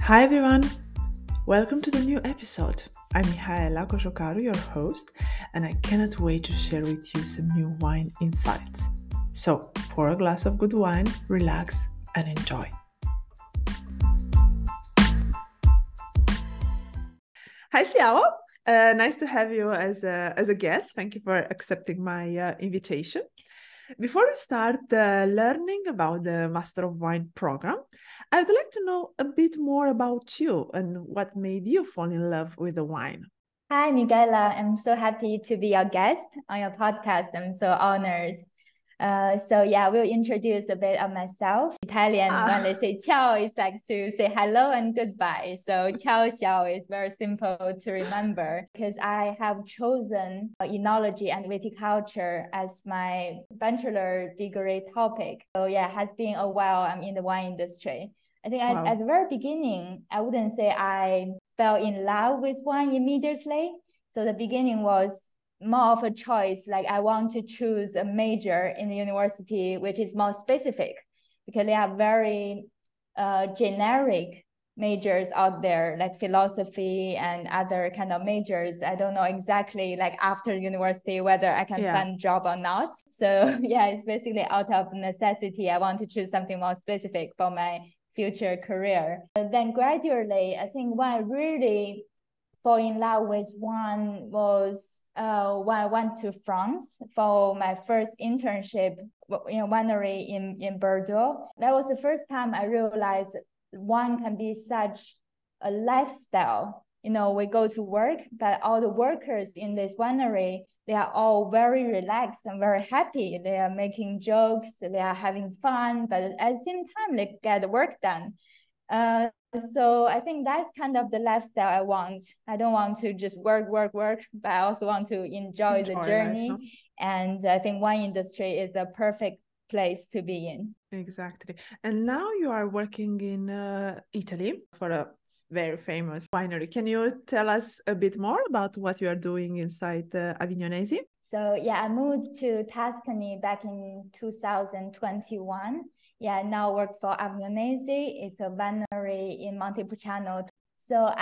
Hi everyone, welcome to the new episode. I'm Mihaela Koshokaru, your host, and I cannot wait to share with you some new wine insights. So pour a glass of good wine, relax, and enjoy. Hi Siao, nice to have you as a guest. Thank you for accepting my invitation. Before we start learning about the Master of Wine program, I would like to know a bit more about you and what made you fall in love with the wine. Hi, Miguela. I'm so happy to be your guest on your podcast. I'm so honored. We'll introduce a bit of myself. Italian, when they say ciao, it's like to say hello and goodbye. So ciao, ciao is very simple to remember because I have chosen enology and viticulture as my bachelor degree topic. So it has been a while I'm in the wine industry. I think at the very beginning, I wouldn't say I fell in love with wine immediately. So the beginning was more of a choice, like I want to choose a major in the university which is more specific, because they are very generic majors out there, like philosophy and other kind of majors. I don't know exactly, like after university, whether I can find a job or not. So it's basically out of necessity. I want to choose something more specific for my future career. But then gradually, I think when I really fall in love with wine was when I went to France for my first internship in a winery in Bordeaux. That was the first time I realized wine can be such a lifestyle. You know, we go to work, but all the workers in this winery, they are all very relaxed and very happy. They are making jokes, they are having fun, but at the same time, they get the work done. So I think that's kind of the lifestyle I want. I don't want to just work, but I also want to enjoy the journey. Life, no? And I think wine industry is a perfect place to be in. Exactly. And now you are working in Italy for a very famous winery. Can you tell us a bit more about what you are doing inside Avignonesi? So I moved to Tuscany back in 2021. Now work for Avignonesi. It's a winery in Montepulciano. So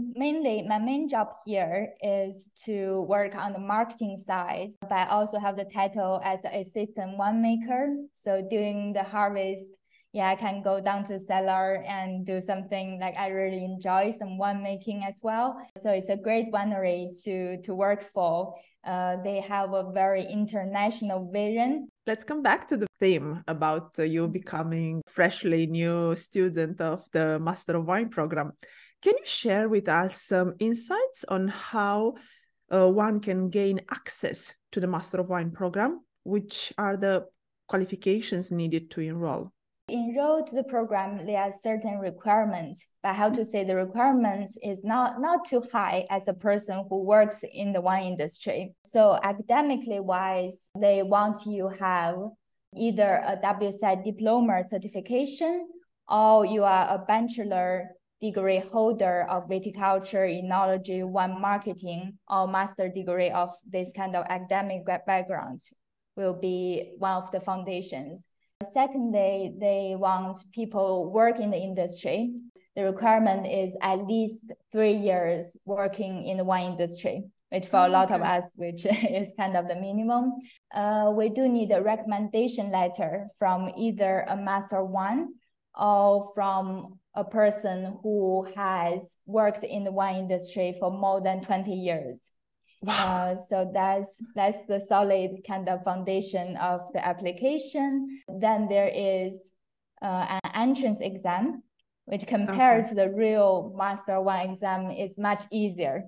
my main job here is to work on the marketing side, but I also have the title as an assistant winemaker. So during the harvest, I can go down to the cellar and do something like I really enjoy, some winemaking as well. So it's a great winery to work for. They have a very international vision. Let's come back to the theme about you becoming freshly new student of the Master of Wine program. Can you share with us some insights on how one can gain access to the Master of Wine program? Which are the qualifications needed to enroll? Enroll to the program, there are certain requirements, but how to say the requirements is not too high as a person who works in the wine industry. So academically wise, they want you have either a WSET diploma certification or you are a bachelor degree holder of viticulture, enology, wine marketing, or master degree of this kind of academic backgrounds will be one of the foundations. Secondly, they want people work in the industry. The requirement is at least 3 years working in the wine industry, which for a lot of us, which is kind of the minimum. We do need a recommendation letter from either a Master of Wine or from a person who has worked in the wine industry for more than 20 years. Wow. So that's the solid kind of foundation of the application. Then there is an entrance exam, which compared to the real Master Wine exam is much easier.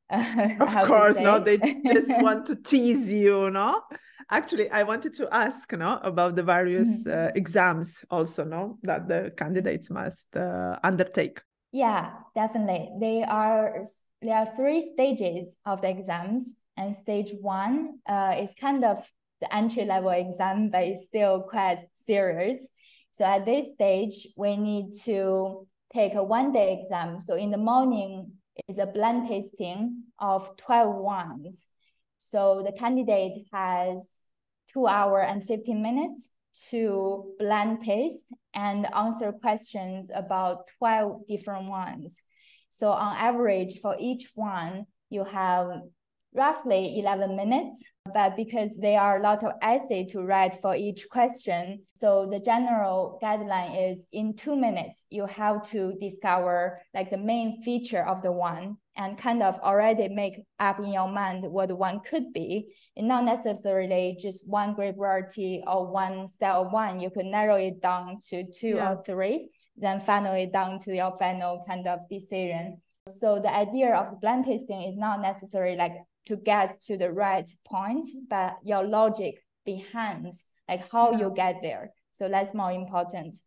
Of course, no, they just want to tease you, no? Actually, I wanted to ask, no, about the various exams also, no, that the candidates must undertake. Yeah, definitely. There are 3 stages of the exams, and stage 1 is kind of the entry-level exam, but it's still quite serious. So at this stage, we need to take a 1-day exam. So in the morning is a blend tasting of 12 wines. So the candidate has 2 hours and 15 minutes to blind taste and answer questions about 12 different ones. So on average, for each one, you have roughly 11 minutes, but because there are a lot of essay to write for each question, so the general guideline is in 2 minutes, you have to discover like the main feature of the one and kind of already make up in your mind what the one could be. And not necessarily just one great variety or one style of one. You could narrow it down to two or three, then finally down to your final kind of decision. So the idea of the blind tasting is not necessarily like to get to the right point, but your logic behind like how you get there. So that's more important.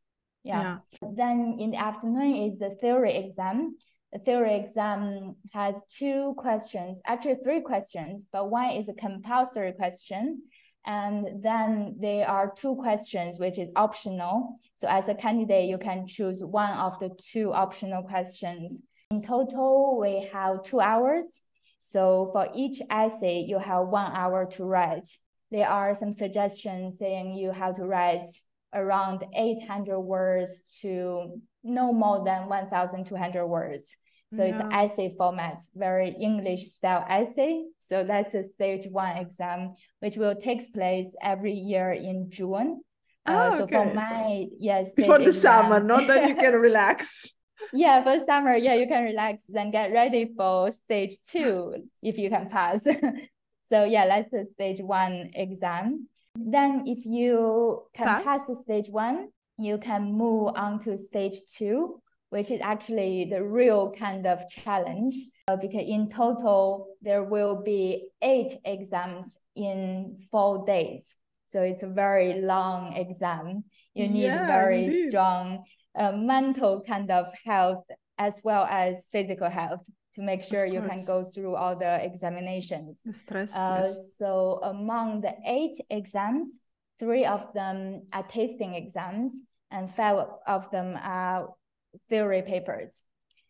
Then in the afternoon is the theory exam. The theory exam has 2 questions, actually 3 questions, but one is a compulsory question. And then there are 2 questions, which is optional. So as a candidate, you can choose one of the 2 optional questions. In total, we have 2 hours. So for each essay, you have 1 hour to write. There are some suggestions saying you have to write around 800 words to no more than 1,200 words. So it's an essay format, very English style essay. So that's a stage 1 exam, which will take place every year in June. So for my before the summer, not that you can relax. For summer, you can relax, then get ready for stage 2 if you can pass. So that's the stage 1 exam. Then if you can pass the stage 1, you can move on to stage 2, which is actually the real kind of challenge, because in total, there will be 8 exams in 4 days. So it's a very long exam. You need very strong mental kind of health as well as physical health to make sure you can go through all the examinations. The stress, So among the 8 exams, 3 of them are tasting exams and 5 of them are theory papers.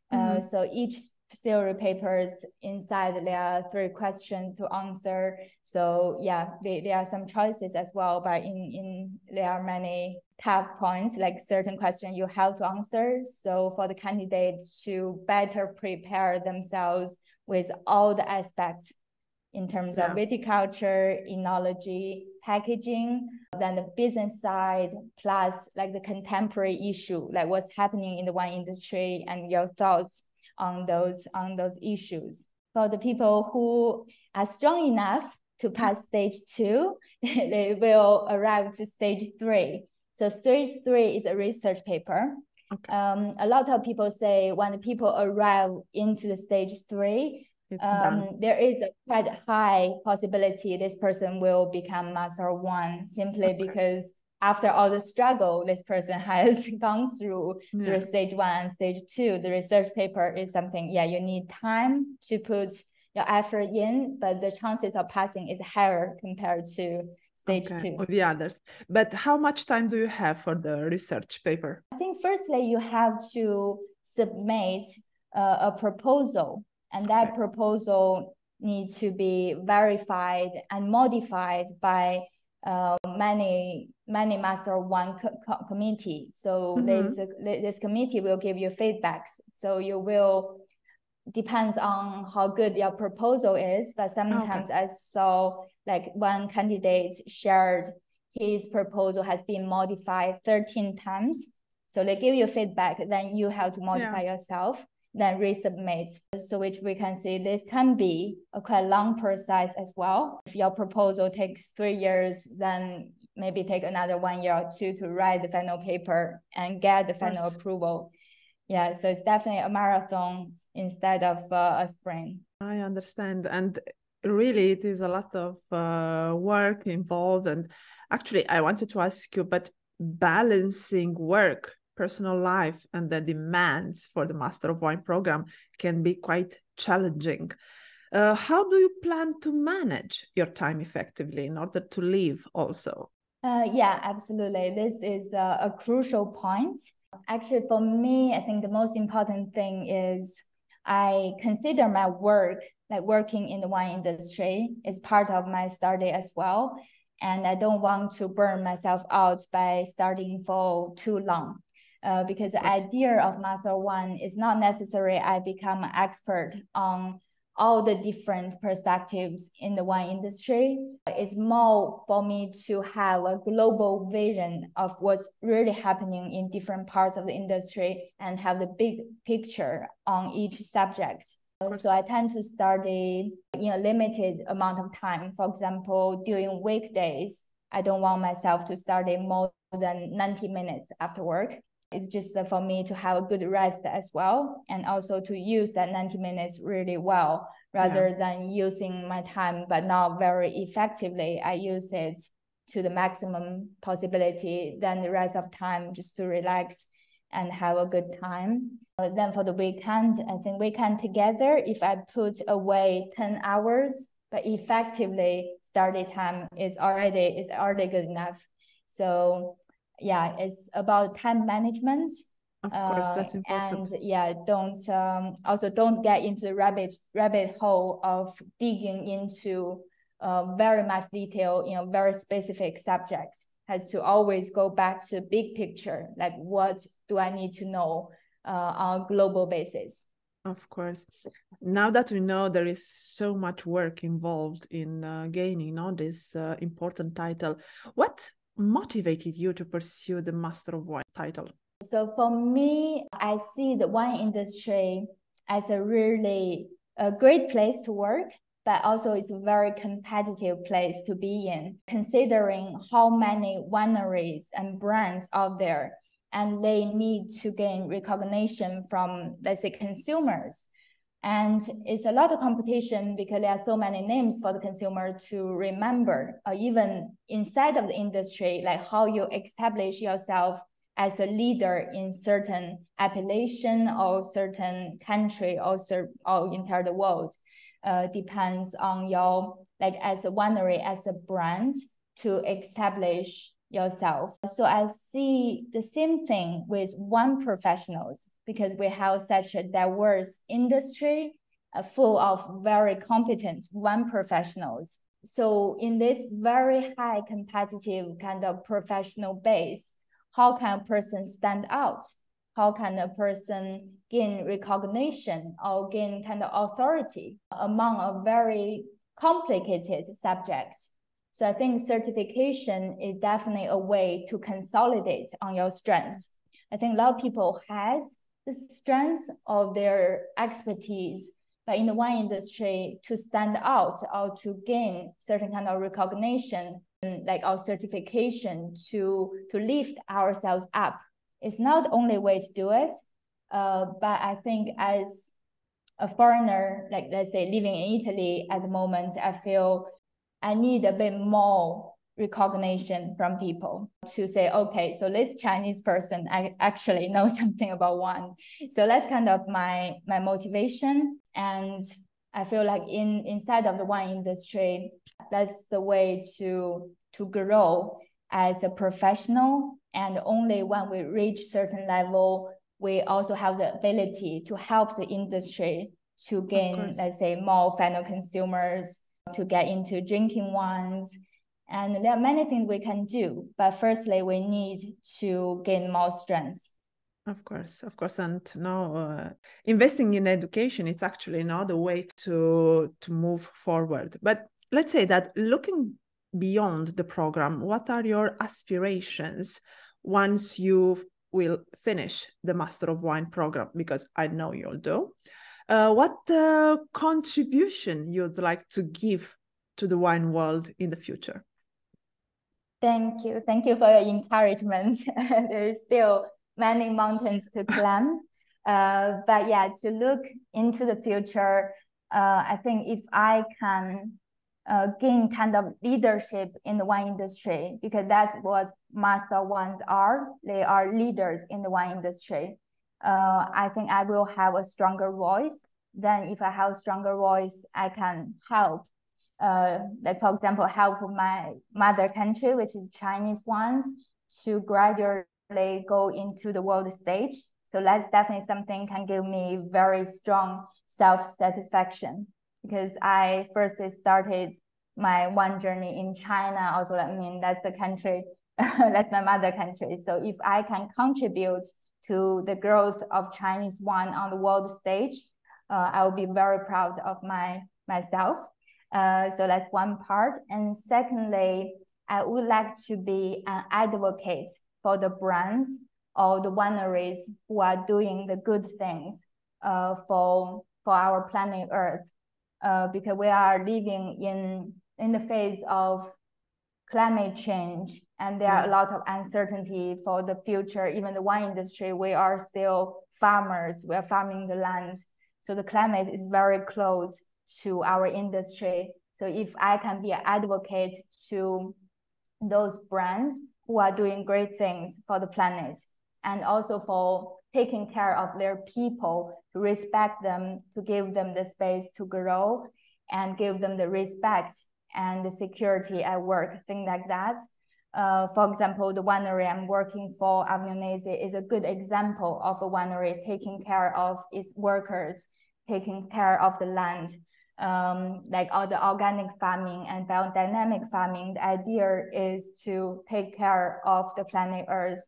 So each theory papers inside there are 3 questions to answer. So there are some choices as well, but in there are many tough points, like certain questions you have to answer. So for the candidates to better prepare themselves with all the aspects in terms of viticulture, enology, packaging, then the business side, plus like the contemporary issue, like what's happening in the wine industry and your thoughts on those issues. For the people who are strong enough to pass stage 2, they will arrive to stage 3. So stage 3 is a research paper. A lot of people say when the people arrive into the stage 3, there is a quite high possibility this person will become Master 1 simply because after all the struggle this person has gone through stage 1 and stage 2, the research paper is something, you need time to put your effort in, but the chances of passing is higher compared to stage 2. Or the others. But how much time do you have for the research paper? I think firstly, you have to submit a proposal, and that proposal needs to be verified and modified by many Master 1 committee. So this committee will give you feedbacks. So you will, depends on how good your proposal is, but sometimes I saw like one candidate shared his proposal has been modified 13 times. So they give you feedback, then you have to modify yourself, then resubmit. So which we can see this can be a quite long process as well. If your proposal takes 3 years, then maybe take another 1 year or 2 to write the final paper and get the final approval. So it's definitely a marathon instead of a sprint. I understand. And really, it is a lot of work involved. And actually, I wanted to ask you, but balancing work, personal life, and the demands for the Master of Wine program can be quite challenging. How do you plan to manage your time effectively in order to live also? Absolutely. This is a crucial point. Actually, for me, I think the most important thing is I consider my work, like working in the wine industry, is part of my study as well. and I don't want to burn myself out by starting for too long. Because the idea of Master One is not necessarily I become an expert on all the different perspectives in the wine industry. It's more for me to have a global vision of what's really happening in different parts of the industry and have the big picture on each subject. So I tend to study in a limited amount of time. For example, during weekdays, I don't want myself to study more than 90 minutes after work. It's just for me to have a good rest as well, and also to use that 90 minutes really well, rather than using my time but not very effectively. I use it to the maximum possibility, then the rest of time just to relax and have a good time. Then for the weekend, I think weekend together, if I put away 10 hours, but effectively study time is already good enough. So yeah, it's about time management. Of course, that's important. And don't get into the rabbit hole of digging into very much detail, very specific subjects. Has to always go back to big picture, like what do I need to know on a global basis. Of course. Now that we know there is so much work involved in gaining this important title, what motivated you to pursue the Master of Wine title? So for me, I see the wine industry as a really great place to work, but also it's a very competitive place to be in, considering how many wineries and brands out there, and they need to gain recognition from, let's say, consumers. And it's a lot of competition because there are so many names for the consumer to remember, or even inside of the industry, like how you establish yourself as a leader in certain appellation or certain country or entire the world. Depends on your, like as a winery, as a brand, to establish yourself. So I see the same thing with wine professionals, because we have such a diverse industry full of very competent wine professionals. So in this very high competitive kind of professional base, how can a person stand out? How can a person gain recognition or gain kind of authority among a very complicated subject? So I think certification is definitely a way to consolidate on your strengths. I think a lot of people has the strengths of their expertise, but in the wine industry, to stand out or to gain certain kind of recognition, like our certification to lift ourselves up, it's not the only way to do it. But I think as a foreigner, like let's say living in Italy at the moment, I feel I need a bit more recognition from people to say, okay, so this Chinese person actually knows something about wine. So that's kind of my motivation. And I feel like inside of the wine industry, that's the way to grow as a professional. And only when we reach certain level, we also have the ability to help the industry to gain, let's say, more final consumers, to get into drinking wines. And there are many things we can do. But firstly, we need to gain more strength. Of course. And now investing in education, it's actually the way to move forward. But let's say that looking beyond the program, what are your aspirations once you will finish the Master of Wine program? Because I know you'll do. What contribution you'd like to give to the wine world in the future? Thank you for your encouragement. There's still many mountains to climb. But yeah, to look into the future, I think if I can gain kind of leadership in the wine industry, because that's what Master Wines are. They are leaders in the wine industry. I think I will have a stronger voice. Then if I have a stronger voice, I can help. Like for example, help my mother country, which is Chinese wines, to gradually go into the world stage. So that's definitely something can give me very strong self-satisfaction, because I first started my one journey in China. Also, I mean, that's the country, that's my mother country. So if I can contribute to the growth of Chinese wine on the world stage, I will be very proud of myself. So that's one part. And secondly, I would like to be an advocate for the brands or the wineries who are doing the good things for our planet Earth, because we are living in the phase of climate change, and there are a lot of uncertainty for the future. Even the wine industry, we are still farmers, we are farming the land. So the climate is very close to our industry. So if I can be an advocate to those brands who are doing great things for the planet, and also for taking care of their people, to respect them, to give them the space to grow, and give them the respect and the security at work, things like that. For example, the winery I'm working for, Avignonesi, is a good example of a winery taking care of its workers, taking care of the land. Like all the organic farming and biodynamic farming, the idea is to take care of the planet Earth,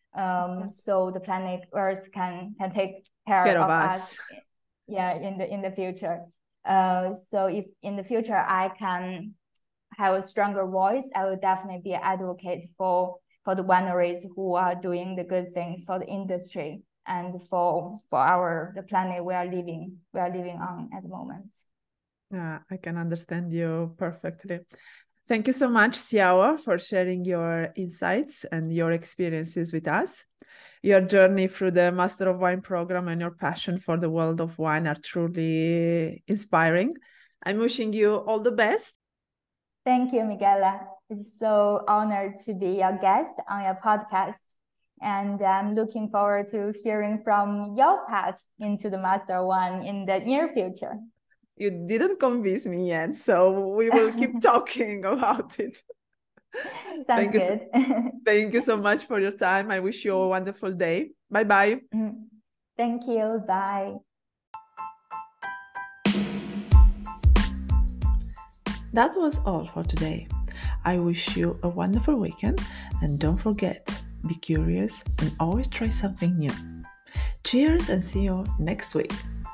so the planet Earth can take care of us. In the future. So if in the future I can have a stronger voice, I will definitely be an advocate for the wineries who are doing the good things for the industry and for the planet we are living on at the moment. Yeah, I can understand you perfectly. Thank you so much, Xiao, for sharing your insights and your experiences with us. Your journey through the Master of Wine program and your passion for the world of wine are truly inspiring. I'm wishing you all the best. Thank you, Miguela. It's so honored to be your guest on your podcast. And I'm looking forward to hearing from your path into the Master of Wine in the near future. You didn't convince me yet, so we will keep talking about it. Sounds good. Thank you so much for your time. I wish you a wonderful day. Bye-bye. Thank you. Bye. That was all for today. I wish you a wonderful weekend, and don't forget, be curious and always try something new. Cheers and see you next week.